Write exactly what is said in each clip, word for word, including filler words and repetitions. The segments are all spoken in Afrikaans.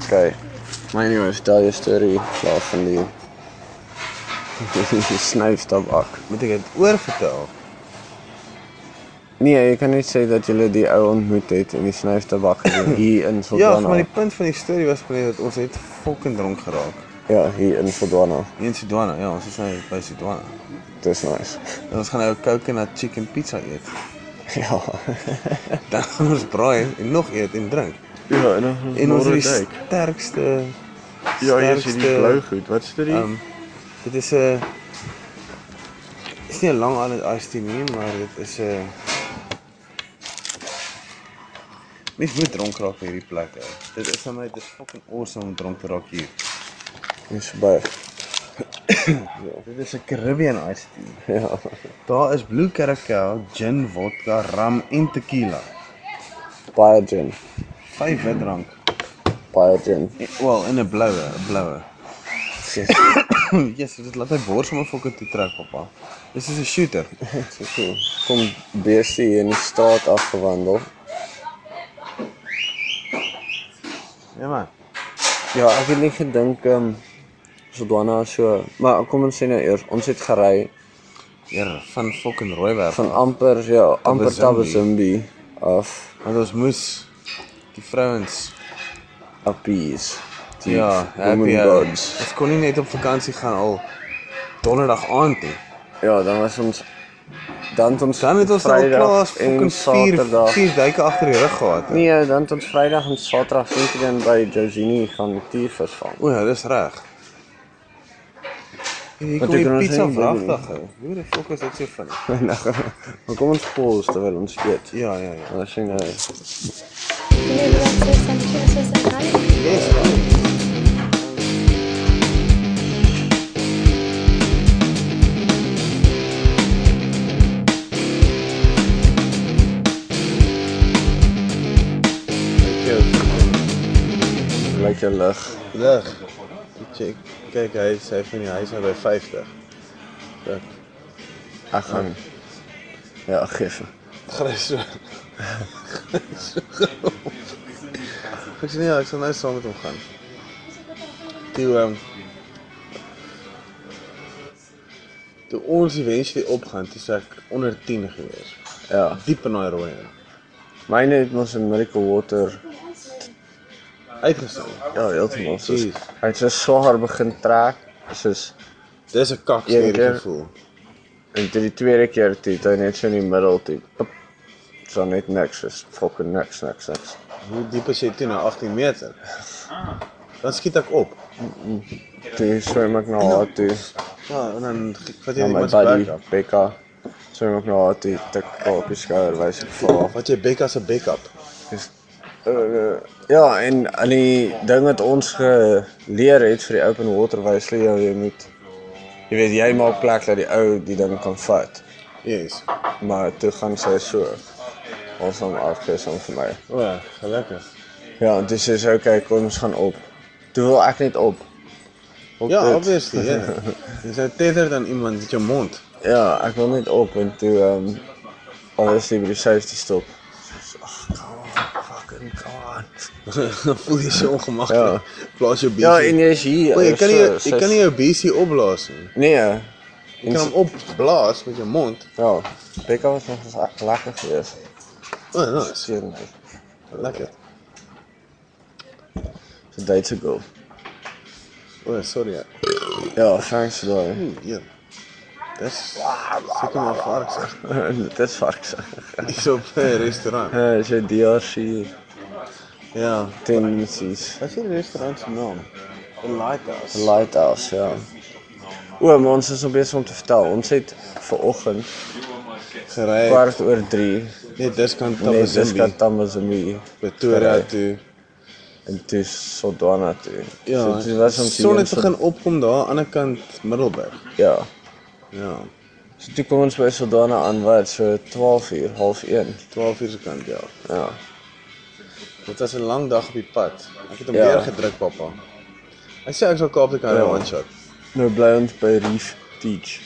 Okay. Maar anyway, vertel je story klaar van die, die snuiftabak. Moet ek dit oorvertel? Nee, jy kan net sê dat jy die ou ontmoet het en die snuiftabak gedoen hier in Ja, Sodwana. maar die punt van die storie was maar net dat ons het fucking dronk geraak. Ja, hier in Sodwana. Hier in Sodwana, ja, ons is nou by Sodwana. Dis nice. En ons gaan nou coconut chicken pizza eet. Ja. Dan gaan ons braai en nog eet en drink. Ja, en dan En ons is die sterkste Ja, hier is die blou goed. Wat is dit? Um, dit is 'n uh, is nie 'n lang aan iced tea nie, maar dit is 'n uh, mens moet dronk raak by hierdie plek. Hè. Dit is vir my dit is fucking awesome om dronk te raak hier. Dis baie. Ja, dit is 'n Caribbean iced tea. Ja. Daar is Blue Caracal, gin, vodka, rum en tequila. Baie gin. Vyf wit drank. Baie gin. Wel, in 'n bloue, 'n bloue. Yes, dit laat my bors om 'n fucking toe trek, pappa. Dis is 'n shooter. So cool. Kom beeste hier in die straat afgewandel. Ja man. Ja, ek het nie gedink ehm um, Sodwana so, maar kom ons sê nou eers, ons het gery Ja, van fucking Rooiwerf. van amper ja, amper Tabazimbi. Tabazimbi af Want ons moes die vrouens appease. Die ja, women happy hour. gods. Ons kon nie net op vakansie gaan al donderdag aand nie. Ja, dan was ons dan het ons Dan het ons al Vrydag klaar en fucking vier, Saterdag. vier duike agter die rug gehad. hè. Nee, dan het ons Vrydag en Saterdag dan by Josini gaan tiervis vang. O ja, dis reg. Hier Wat kom ek die kan ons pizza nie doen nie. vragtig hou. Hoe die fuck is dit so funny? Maar kom ons pause terwyl ons eet. Ja, ja, ja. Dan sien jy. Yes, Lyk jou lig. lig. Check. Kyk, hy sê van die huis nou by vyftig. Dat Ek gaan. Ja, geef. gaan hy so. Ek sê nee, ek sal nou saam met hom gaan. Toe um, toe ons eventually opgaan, toe sê ek onder tien gewees. Ja. Diep in daai rooi. Myne het mos in Miracle Water. Uitgestaan. Ja, heeltemal. Soos, Jeez. hy het so swaar begin trek. Soos Dis 'n Een kaksneer keer- gevoel. en toe die tweede keer toe het hy net so in die middel toe. Pop, so net niks, is fucking niks, niks, niks. Hoe diep is jy toe nou agtien meter? Dan skiet ek op. Toe swem ek na haar toe. Ja, en dan vat jy Na my iemand se buddy, bek af. Becca. Swem ek na haar toe, tik haar op die skouer, wys ek vir haar. Wat jy Becca se backup. Dis uh, ja, en al die ding wat ons geleer het vir die open water wys jy jou jy moet jy weet jy maak plek dat die ou die ding kan vat. Yes. Maar toe gaan sy so. Ons hom afgees om vir my. O, ja, gelukkig. Ja, en toe sê sy okay, kom ons gaan op. Toe wil ek net op. Op Ja, dit. obviously, ja. Jy sê tether dan iemand met jou mond. Ja, ek wil net op en toe ehm um, obviously by die safety stop. Ag, come on, fucking come on. Dan voel jy so ongemaklik. Plaas jou B C. Ja, en jy is hier. O, jy kan nie so, jy kan nie jou B C opblaas nie. Nee. Jy kan hom opblaas met jou mond. Ja, Becca was nog eens echt lekker geweest. O, oh, nice. Zeer nice. Lekker. It's a Duitse girl. O, oh, sorry. Ja. Ja, thanks for that. Hm, ja. Dis seker maar varks. Dit is varks. Dis op 'n restaurant. Ja, is een D R C Ja. tendencies. Wat is die restaurant se naam? The Lighthouse. The Lighthouse, ja. O, maar ons is nog bezig om te vertel. Ons het vanoggend Gery. kwart oor drie. Nee, dis kan Nee, dis Tabazimbi. kan Tamazimbi. Pretoria gery. toe. En toe Sodwana toe. Ja, so, toe was ons die son hier in het Sod- begin opkom daar aan die ander kant Middelburg. Ja. Ja, So toe kom ons by Sodwana aan wat so twaalf uur, half een. twaalf uur se kant, ja. Ja. Dit was 'n lang dag op die pad. Ek het hom Ja. weer gedruk, pappa. Hy sê ek sal Kaap toe kan ry Ja. one shot. Nou bly ons by Reef Teach.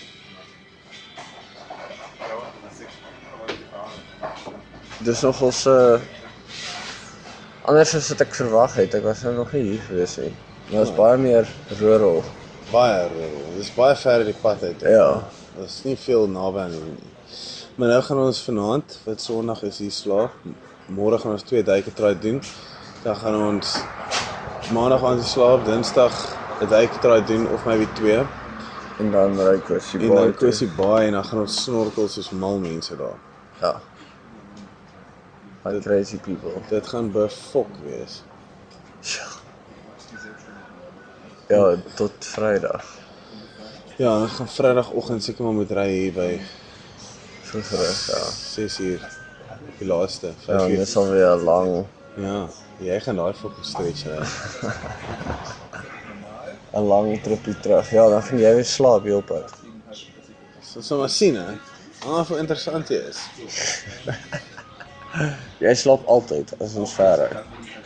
Dis nogals 'n uh, Anders as wat ek verwag het, ek was nou nog nie hier gewees nie. Maar dit is baie meer rural. Baie rural. Dis baie ver uit die pad uit. Ja. Daar's nie veel naby aan nie. Maar nou gaan ons vanaand, wat Sondag is hier slaap. Môre gaan ons twee duike try doen. Dan gaan ons Maandag aan die slaap, Dinsdag 'n duike try doen of maybe twee. En dan ry Kussie En Baai dan toe. Kussie Baai en dan gaan ons snorkel soos mal mense daar. Ja. Like crazy people. Dit gaan befok wees. Ja, tot Vrydag. Ja, ons gaan Vrydagoggend seker maar moet ry hier by Vroegerig, ja. ses uur. Die laaste, Ja, vyf en uur. dit sal weer lang, Ja, jy gaan daai fucking stretch ry. 'n lang tripie terug. Ja, dan gaan jy weer slaap hier op pad. So sal maar sien hè. Ah, hoe interessant jy is. Jy slaap altyd as ons ver ry.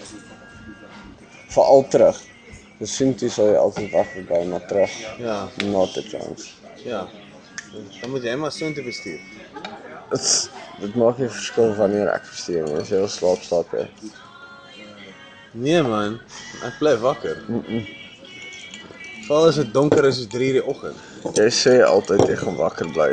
Veral terug. Dus sien toe sal jy altyd wag by, maar terug, Ja, not a chance. ja. Dan moet jy maar soontoe bestuur. Dit, dit maak nie verskil wanneer ek verstuur nie. As jy wil slaap, slaap jy. Nee man, ek bly wakker. Veral as dit donker is soos drie uur die oggend. Jy sê altyd jy gaan wakker bly.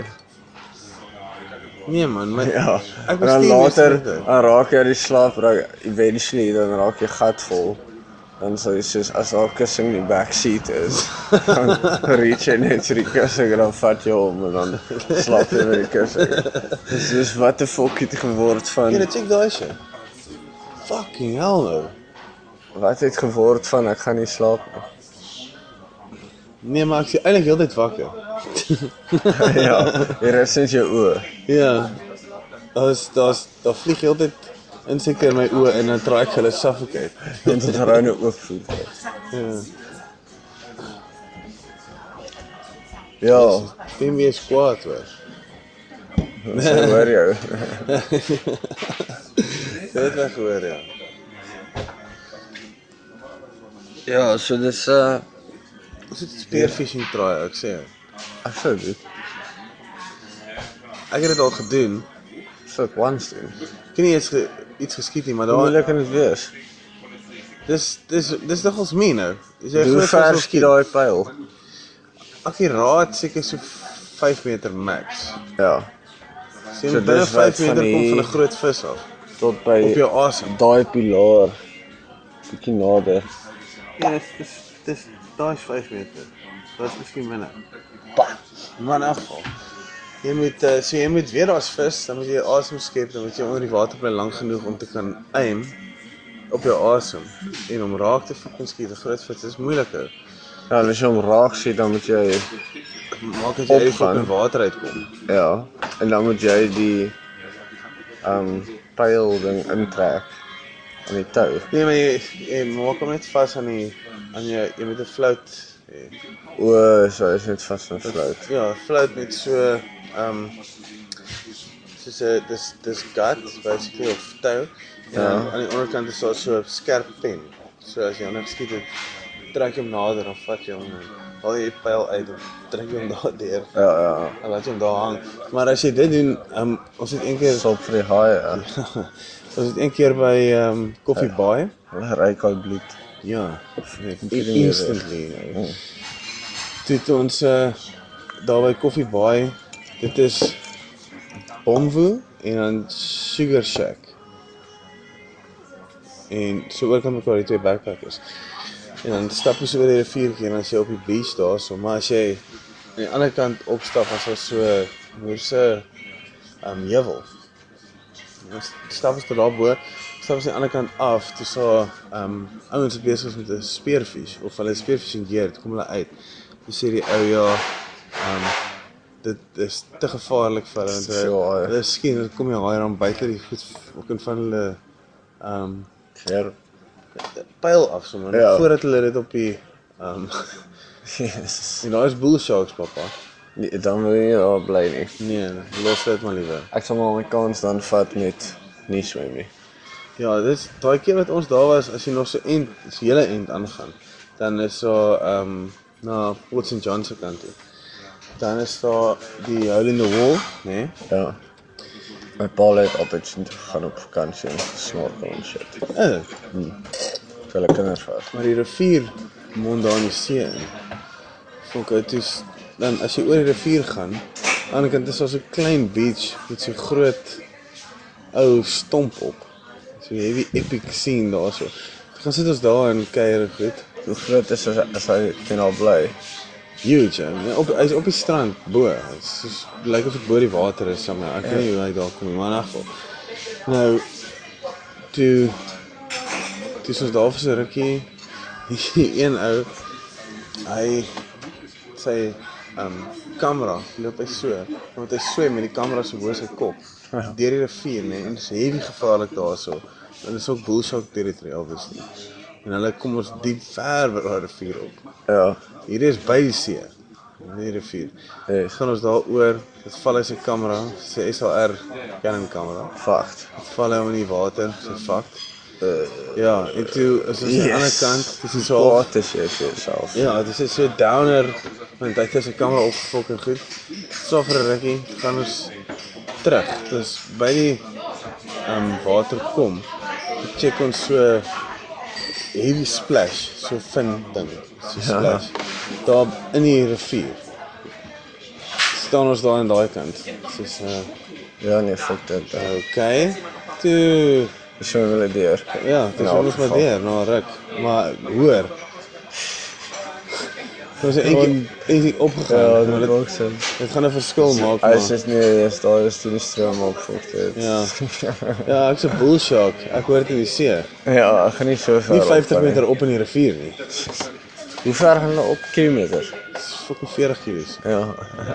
Nee man, my, Ja, ek en dan bestuur later, meeste tyd. dan raak jy die slaap, raak, eventually, dan raak jy gat vol. Dan sal jy soos, as daar kussing in die backseat is, dan reach jy net vir die kussing en dan vat jy hom en dan slaap jy met die kussing. Dus, dus wat die fok het geword van, Jy check daai shit. Fucking hell no. wat het geword van, ek gaan nie slaap nie. Nee, maar ek is eintlik heeltyd wakker. Ja, jy rus net jou oë. Ja. Daar's daar's daar vlieg heeltyd insekte in my oë en dan try ek hulle suffocate. En tot ruine oopvoer. Ja. Ja, Stem jy is kwaad hoor. so hoor jou. Jy het my gehoor ja. Ja, so dis, uh, Ons het spearfishing try, ek sê. ek sou dit, Ek het dit al gedoen. sou ek once doen. Ek het nie eens ge, iets geskiet nie, maar Hoe daar moeilik kan dit wees? dis dis dis nogals min nou. Is jy Hoe groot ver as skiet daai pyl? Akkuraat seker so vyf meter max. Ja, Sien So so, binne dis wat vyf meter van kom die- van 'n groot vis af. tot by Op jou asem. daai pilaar. Bietjie nader. Ja, dis dis dis daai is vyf meter. Dit is miskien minder. Maar in elk geval. Jy moet uh, so jy moet weet daar's vis, dan moet jy asem skep, dan moet jy onder die water bly lank genoeg om te kan aim op jou asem en om raak te fucking skiet. 'n Groot vis is moeiliker. Ja, en as jy hom raak sien, dan moet jy, Maak dit jy uit die Opgaan. fucking water uitkom. ja, en dan moet jy die um pyl ding intrek aan die tou. Nee, maar jy, jy maak hom net vas aan die aan jou jy moet 'n float hê. O, so is net vas en float. Ja, float met so ehm um, soos 'n dis dis gut basically of tou. En Ja. dan aan die onderkant is daar so 'n skerp pen. So as jy hom net skiet, dan trek jy hom nader of vat jy hom en haal jy die pyl uit of trek jy hom daar deur Ja, ja, en laat jy hom daar hang. Maar as jy dit doen, ehm um, ons het een keer sop vir die haai, ja. ons het een keer by ehm um, Coffee Baai. Hulle ry koud bloed. Ja, Nee, instantly. Toe het ons uh, daar by Coffee Baai, dit is Bomvu en dan Sugar Shack. En so oor kan mekaar die twee backpackers. En dan stap jy so oor die riviertjie en dan is jy op die beach daar so, maar as jy aan die ander kant opstap, as daar so moerse um heuwel. Dan stap ons tot daar bo, stap ons aan die ander kant af, toe so um ouens wat besig is met 'n spearfish of hulle spearfishing gear, toe kom hulle uit. Toe sê die ou ja, um dit is te gevaarlik vir hulle want Te veel haai. hulle hulle skien, dan kom jy haai dan buite die goed ook in van hulle um Ja. pyl af sommer Ja. voordat hulle dit op die um Yes. en daar is bull sharks pappa. Nee, dan wil jy daar bly nie. Nee, los dit maar liewer. Ek sal maar my kans dan vat met nie swem nie. Ja, dis daai keer wat ons daar was, as jy nog so end, as jy hele end aangaan, dan is so um na Port Saint John se kant toe. Dan is daar die hole in the wall, né? Nee? Ja. My pa het altyd sin toe gegaan op vakansie en gesnorkel en shit. Eh, Vir hulle kinders vat. maar die rivier mond daar in die see in. Volk uit is, dan as jy oor die rivier gaan, aan die ander kant is daar so 'n klein beach met so groot ou stomp op. So jy het die epic scene daar so. Gaan sit ons daar en kuier en goed. Hoe groot is as, as hy teen al bly? Huge, hè. Op, hy is op die strand, bo. Hy is soos, lyk of dit bo die water is, sommer. Ek weet nie hoe hy daar kom nie, maar in elk geval. Nou, toe, toe is ons daar vir so 'n rukkie, die een ou, hy, sy, um, kamera, loop hy so, want hy swem met die kamera so bo sy kop, Ja. deur die rivier, nee, en dit is heavy gevaarlik daar so. En dit is ook bull shark territory, obviously. En hulle kom ons diep ver by daai rivier op. Ja. Hier is by die see, nie die rivier. Yes. Gaan ons daar oor, dit val hy sy kamera, sy S L R Canon kamera. Fakt. Dit val hy om in die water, sy fakt. Uh, Ja, en toe is ons aan die ander kant, dis is so half, Wat is jy vir jouself? ja, dit is so downer, want hy het sy kamera opgefok en goed. So vir 'n rukkie, gaan ons terug. Dus by die um, water kom, check ons so heavy splash, so fin ding, so Ja. splash. Daar in die rivier. Staan ons daar aan daai kant. Soos uh, Ja, nee, fuck dit. Uh, okay. Toe so wil ek deur. ja, dis In ons elk maar geval. deur na 'n ruk. Maar hoor. Ons het eendag eendag opgegaan. Ja, maar dit dit, ook sin. dit gaan 'n verskil maak. Hy Maar. is net nie eens daar is toe die stroom opvolg het. Ja. Ja, ek's 'n bull shark. Ek hoor dit in die see. Ja, ek gaan nie so ver. Nie op vyftig gaan nie. meter op in die rivier nie. Hoe ver gaan hulle op kilometers? Dis fucking veertig kilo's. Ja.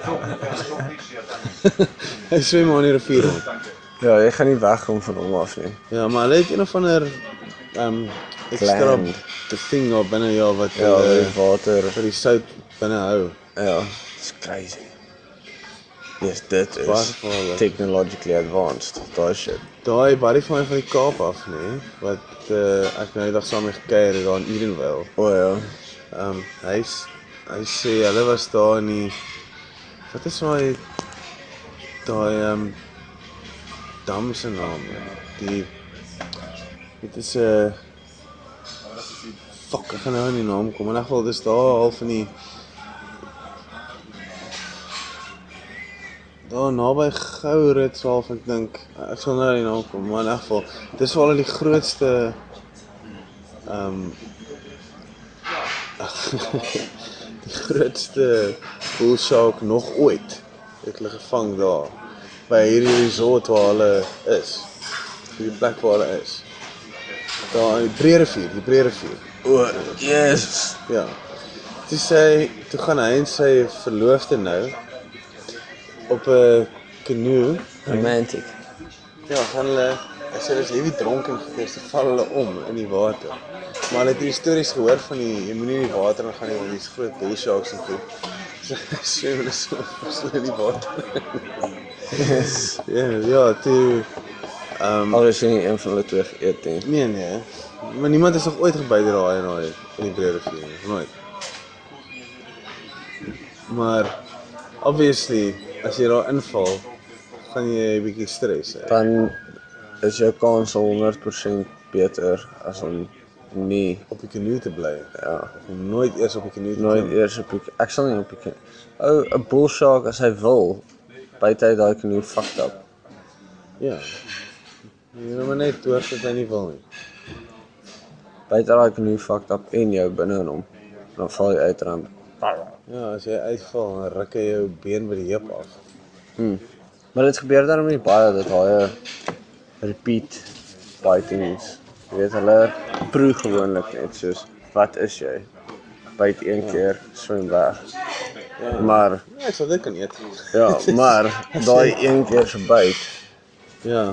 Hy swem maar in die rivier rond. Ja, jy gaan nie wegkom van hom af nie. Ja, maar hulle het een of ander um extra Gland. the thing daar binne ja wat Ja, hulle die water. vir die sout binne hou. Ja, it's crazy. Yes, dit Baie is gevaarlik. technologically advanced. Daai shit. Daai buddy van my van die Kaap af, nê, wat uh, ek nou die dag saam mee gekuier het daar in Edenvale. O ja. Um hy s- hy sê hulle was daar in die wat is daai daai um dam se naam? Die dit is 'n uh, fuck, ek gaan nou nie die naam kom. In elk geval dis daar half in die daar naby Gourits half ek dink. Ek sal nou nie die naam kom, maar in elk geval dis wel die grootste um die grootste bull shark nog ooit het hulle gevang daar by hierdie resort waar hulle is. Die plek waar hulle is. Daar in die Breerivier, die Breerivier. O, yes. Ja. Toe sê toe gaan hy en sy verloofde nou op 'n canoe. Romantic. Ja, gaan hulle Hy sê dis heavy dronken gewees, toe val hulle om in die water. Maar hulle het die stories gehoor van die jy moenie in die water gaan nie want dis groot bull sharks en goed. So swem hulle so so in die water. Yes. Ja, ja, toe ehm Al is nie een van hulle twee geëet nie. nee nee. Maar niemand is nog ooit gebyt deur daai en daai in die Breerivier nie, nooit. Maar obviously as jy daar inval, gaan jy 'n bietjie stres hê. Dan is jou kans al honderd persent beter as om nie, Op die canoe te bly. ja, Om nooit eers op die canoe te nooit klim. eers op die, ek sal nie op die knie. Ou, 'n bull shark as hy wil, byt hy daai canoe fucked up. Ja. Jy moet maar net hoor dat hy nie wil nie. Byt hy daai canoe fucked up en jou binne in hom. Dan val jy uit rand. Ja, as jy uitval, dan ruk hy jou been by die heup af. Hmm. Maar dit gebeur daarom nie baie dat hy repeat bitings. Jy weet hulle proe gewoonlik net soos wat is jy? Byt een keer, swem weg. Ja. Maar Ja, ek sal dit kan eet. ja, maar daai een keer se byt. Ja.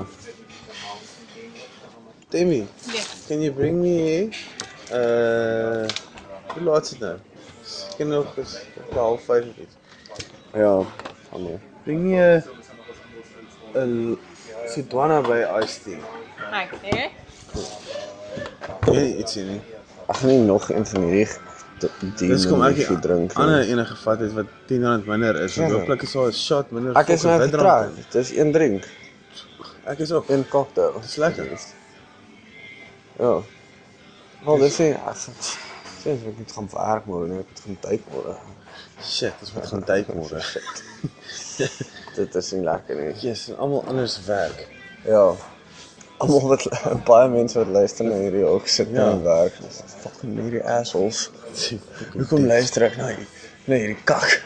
Demi, Yes. can you bring me uh hoe laat is dit nou? Ek ken nog is half vyf of iets. Ja, van nee. Bring me 'n 'n Sidwana by Iced Tea. Okay. Nee, iets hier nie. Ek gaan nie nog een van hierdie die Dis kom ek nie drink. nie. ander enige vat het wat tien rand minder is. Ja. Want hopelik is daar 'n shot minder. Ek is nou fucking witdrank getrek. Dis een drink. in. Ek is op. Een cocktail. Dis lekker. Ja. Wel, dis nie, ek sê ek moet gaan werk môre, nee, ek moet gaan tyd môre. Shit, ons moet gaan tyd môre. Dit is nie lekker nie. Yes, en almal anders werk. Ja. Almal wat baie mense wat luister na hierdie ook sit Ja. in werk. Dis fucking hierdie assholes. Hoekom luister ek na hierdie na hierdie kak?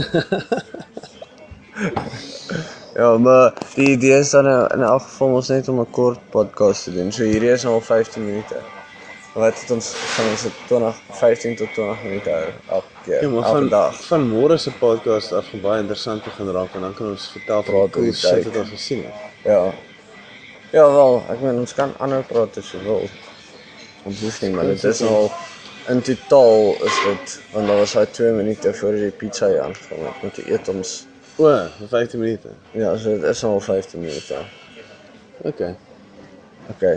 Ja, maar die idee is dan in elk geval ons net om 'n kort podcast te doen. So hierdie is nou al vyftien minute. Wat het ons gaan ons dit twintig, vyftien tot twintig minute hou elke keer, Ja, maar elke van, dag. van môre se podcast af gaan baie interessant begin raak en dan kan ons vertel van die Praat cool oor die shit tyd. wat ons gesien het. Ja. Ja wel, ek meen ons kan ander praat as jy wil. Ons hoef nie, maar dit is al in totaal is dit, want daar was daai twee minute voor die pizza hier aangekom het met die eet ons. O, vir vyftien minute. Ja, so dit is al vyftien minute. Okay. Okay.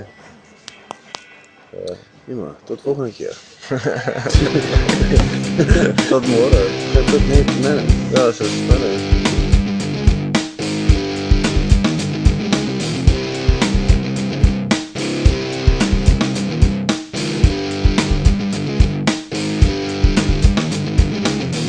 Ja, maar tot volgende keer. Tot môre. Tot net, nee. Ja, so spannend.